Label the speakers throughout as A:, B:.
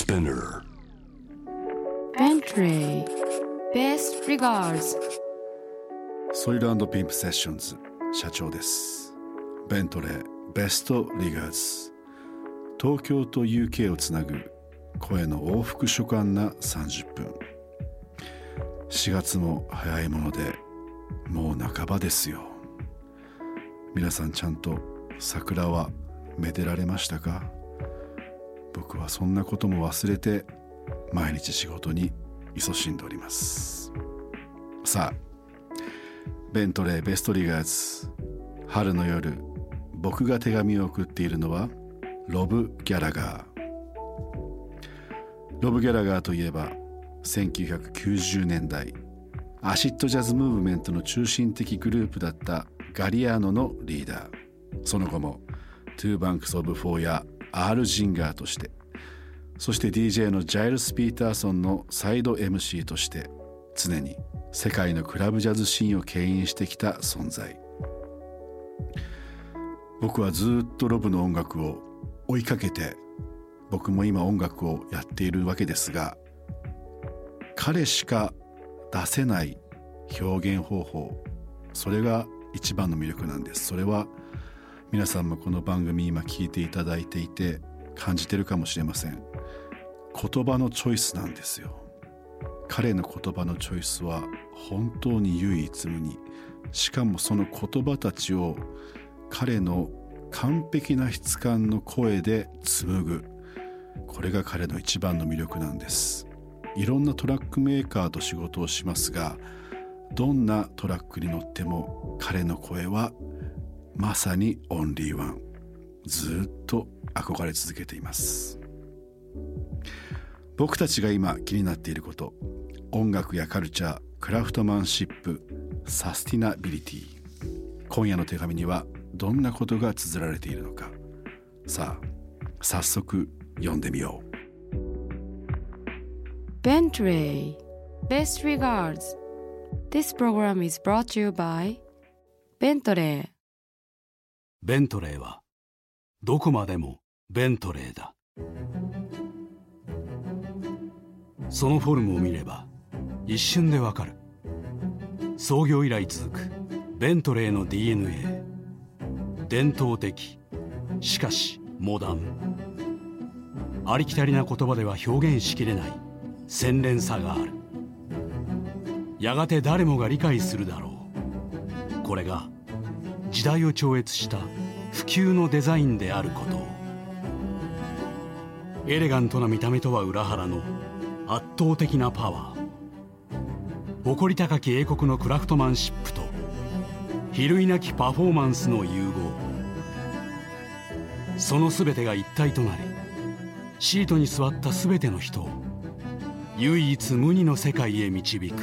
A: Spinner
B: Bentley Best Regards
C: ソイル&ピンプセッションズ社長です。ベントレーベストリガーズ、東京と UK をつなぐ声の往復書簡な30分。4月も早いものでもう半ばですよ。皆さんちゃんと桜はめでられましたか？僕はそんなことも忘れて毎日仕事に勤しんでおります。さあ、ベントレーベストリガーズ、春の夜、僕が手紙を送っているのはロブ・ギャラガー。ロブ・ギャラガーといえば1990年代アシッドジャズムーブメントの中心的グループだったガリアーノのリーダー、その後もトゥーバンクス・オブ・フォーやアール・ジンガーとして、そして DJ のジャイルス・ピーターソンのサイド MC として常に世界のクラブジャズシーンを牽引してきた存在。僕はずっとロブの音楽を追いかけて、僕も今音楽をやっているわけですが、彼しか出せない表現方法、それが一番の魅力なんです。それは皆さんもこの番組今聞いていただいていて感じてるかもしれません。言葉のチョイスなんですよ。彼の言葉のチョイスは本当に唯一無二。しかもその言葉たちを彼の完璧な質感の声で紡ぐ。これが彼の一番の魅力なんです。いろんなトラックメーカーと仕事をしますが、どんなトラックに乗っても彼の声はまさにオンリーワン。ずっと憧れ続けています。僕たちが今気になっていること、音楽やカルチャー、クラフトマンシップ、サスティナビリティ。今夜の手紙にはどんなことが綴られているのか。さあ、早速読んでみよう。
B: Bentley Best Regards. This program is brought to you by Bentley.
A: ベントレーはどこまでもベントレーだ。そのフォルムを見れば一瞬でわかる。創業以来続くベントレーの DNA。 伝統的、しかしモダン。ありきたりな言葉では表現しきれない洗練さがある。やがて誰もが理解するだろう。これが時代を超越した普及のデザインであることを。エレガントな見た目とは裏腹の圧倒的なパワー、誇り高き英国のクラフトマンシップと比類なきパフォーマンスの融合。その全てが一体となり、シートに座った全ての人を唯一無二の世界へ導く。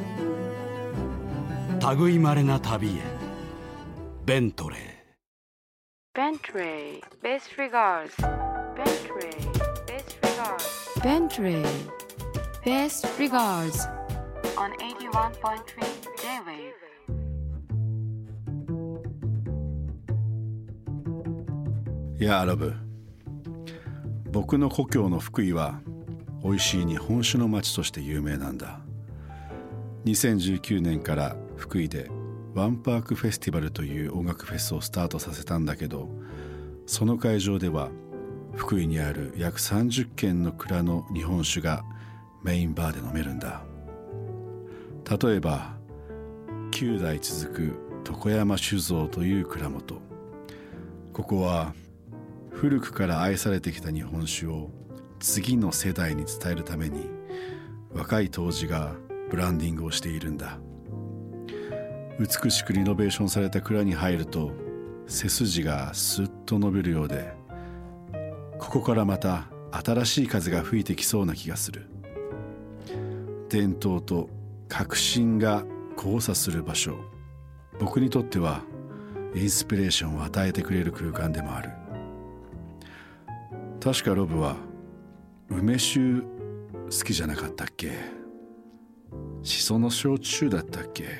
A: 類まれな旅へ、ベントレー。
B: Bentley Best Regards. Bentley Best Regards. Bentley Best Regards on 81.3 J-Wave.
C: いやロブ、僕の故郷の福井は美味しい日本酒の町として有名なんだ。2019年から福井でワンパークフェスティバルという音楽フェスをスタートさせたんだけど、その会場では福井にある約30軒の蔵の日本酒がメインバーで飲めるんだ。例えば9代続く床山酒造という蔵元。ここは古くから愛されてきた日本酒を次の世代に伝えるために若い杜氏がブランディングをしているんだ。美しくリノベーションされた蔵に入ると背筋がスッと伸びるようで、ここからまた新しい風が吹いてきそうな気がする。伝統と革新が交差する場所、僕にとってはインスピレーションを与えてくれる空間でもある。確かロブは梅酒好きじゃなかったっけ？しその焼酎だったっけ？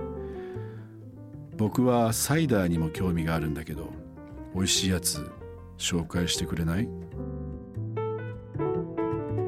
C: 僕はサイダーにも興味があるんだけど、美味しいやつ紹介してくれない？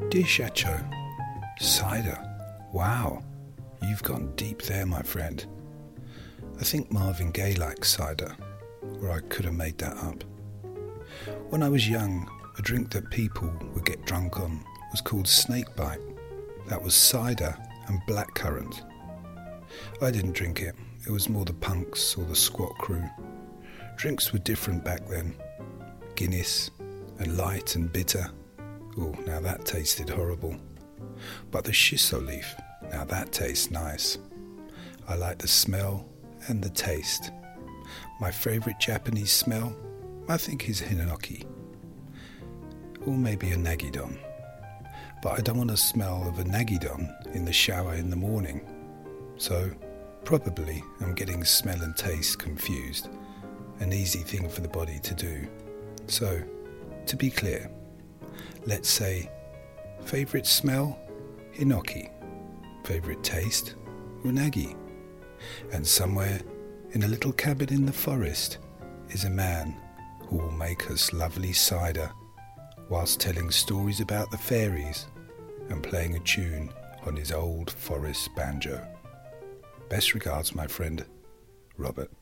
D: Dear Shacho, cider. Wow, you've gone deep there, my friend. I think Marvin Gaye likes cider, or I could have made that up. When I was young, a drink that people would get drunk on was called snakebite. That was cider and blackcurrant. I didn't drink it. It was more the punks or the squat crew. Drinks were different back then. Guinness, and light and bitter. Oh, now that tasted horrible. But the shiso leaf, now that tastes nice. I like the smell and the taste. My favourite Japanese smell, I think, is hinoki. Or maybe a nagidon. But I don't want the smell of a nagidon in the shower in the morning. So, probably I'm getting smell and taste confused. An easy thing for the body to do. So, to be clear, let's say, favourite smell, hinoki. Favourite taste, unagi. And somewhere in a little cabin in the forest is a man who will make us lovely cider whilst telling stories about the fairies and playing a tune on his old forest banjo. Best regards, my friend, Robert.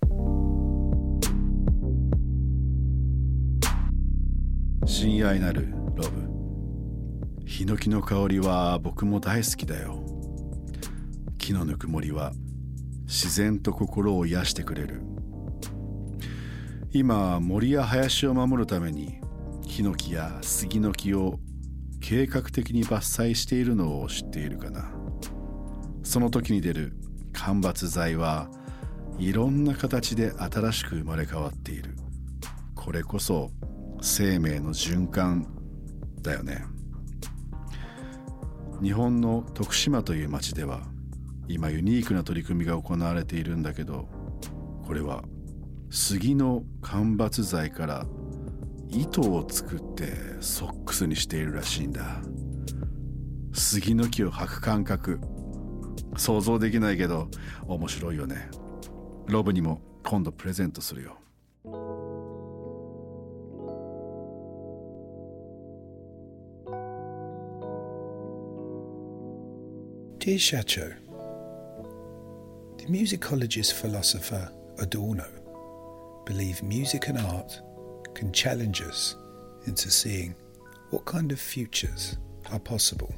C: 親愛なるロブ、ヒノキの香りは僕も大好きだよ。木のぬくもりは自然と心を癒してくれる。今、森や林を守るためにヒノキや杉の木を計画的に伐採しているのを知っているかな。その時に出る間伐材はいろんな形で新しく生まれ変わっている。これこそ生命の循環だよね。日本の徳島という町では今ユニークな取り組みが行われているんだけど、これは杉の間伐材から糸を作ってソックスにしているらしいんだ。杉の木を履く感覚、想像できないけど面白いよね。ロブにも今度プレゼントするよ。
D: Dear Shacho, the musicologist philosopher Adorno believed music and art can challenge us into seeing what kind of futures are possible.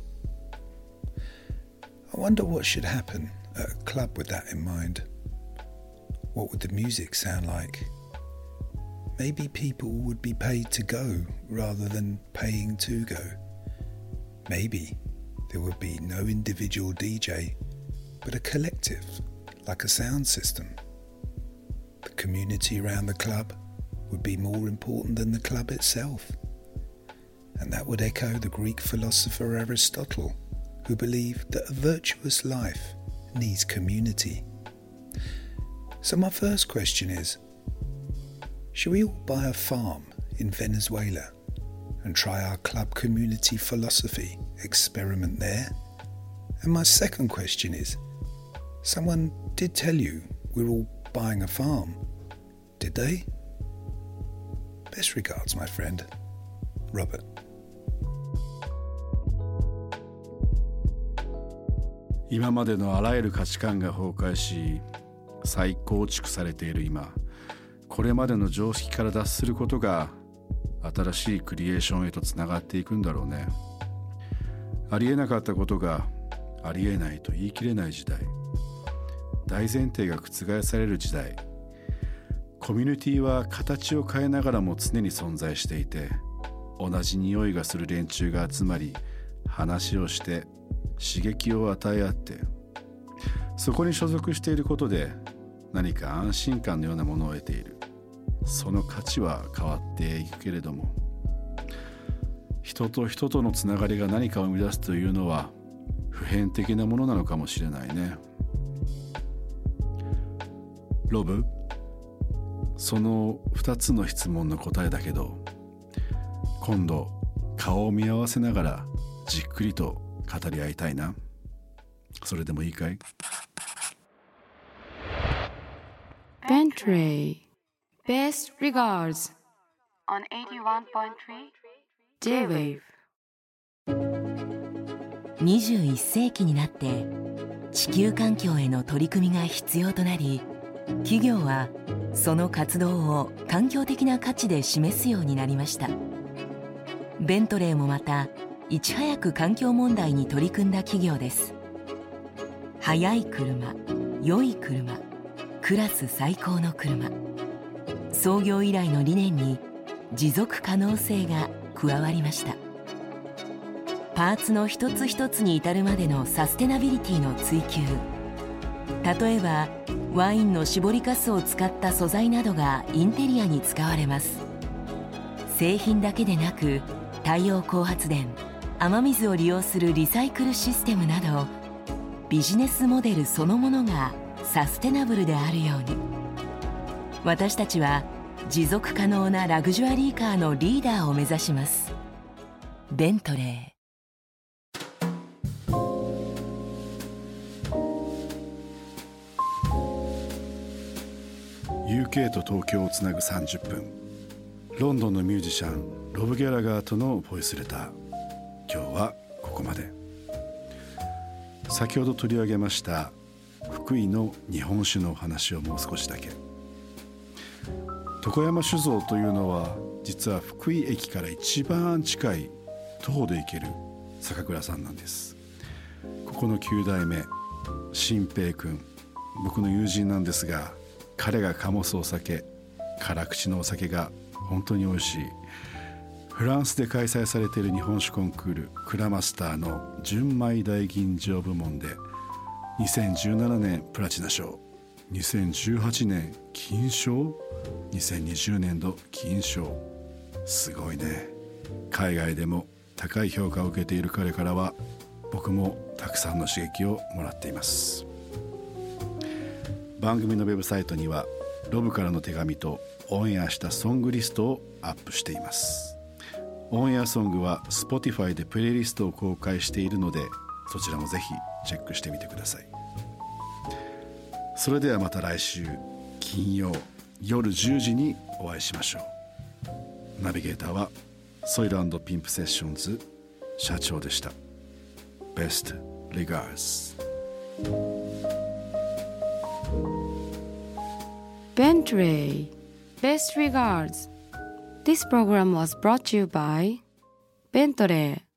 D: I wonder what should happen at a club with that in mind. What would the music sound like? Maybe people would be paid to go rather than paying to go. Maybe there would be no individual DJ, but a collective, like a sound system. The community around the club would be more important than the club itself. And that would echo the Greek philosopher Aristotle, who believed that a virtuous life needs community. So my first question is, should we all buy a farm in Venezuela and try our club community philosophy experiment there? And my second question is, someone did tell you we're all buying a farm, did they? Best regards, my friend, Robert.
C: 今までのあらゆる価値観が崩壊し再構築されている今、これまでの常識から脱することが新しいクリエーションへとつながっていくんだろうね。ありえなかったことがありえないと言い切れない時代、大前提が覆される時代、コミュニティは形を変えながらも常に存在していて、同じ匂いがする連中が集まり話をして刺激を与え合って、そこに所属していることで何か安心感のようなものを得ている。その価値は変わっていくけれども、人と人とのつながりが何かを生み出すというのは普遍的なものなのかもしれないね。ロブ、その2つの質問の答えだけど、今度顔を見合わせながらじっくりと語り合いたいな。それでもいいかい？
B: Bentley Best Regards on 81.3 J-Wave
E: 21世紀になって地球環境への取り組みが必要となり、企業はその活動を環境的な価値で示すようになりました。ベントレーもまたいち早く環境問題に取り組んだ企業です。速い車、良い車、クラス最高の車。創業以来の理念に持続可能性が加わりました。パーツの一つ一つに至るまでのサステナビリティの追求。例えばワインの搾りかすを使った素材などがインテリアに使われます。製品だけでなく太陽光発電、雨水を利用するリサイクルシステムなど、ビジネスモデルそのものがサステナブルであるように、私たちは持続可能なラグジュアリーカーのリーダーを目指します。ベントレー。
C: UK と東京をつなぐ30分、ロンドンのミュージシャンロブ・ギャラガーとのボイスレター。今日はここまで。先ほど取り上げました福井の日本酒のお話をもう少しだけ。常山酒造というのは実は福井駅から一番近い徒歩で行ける酒蔵さんなんです。ここの9代目新平君、僕の友人なんですが、彼が醸すお酒、辛口のお酒が本当に美味しい。フランスで開催されている日本酒コンクールクラマスターの純米大吟醸部門で2017年プラチナ賞、2018年金賞、2020年度金賞。すごいね。海外でも高い評価を受けている彼からは僕もたくさんの刺激をもらっています。番組のウェブサイトにはロブからの手紙とオンエアしたソングリストをアップしています。オンエアソングは Spotify でプレイリストを公開しているので、そちらもぜひチェックしてみてください。それではまた来週金曜夜10時にお会いしましょう。ナビゲーターはソイル&ピンプセッションズ社長でした。Best regards。
B: Bentley, best regards. This program was brought to you by Bentley.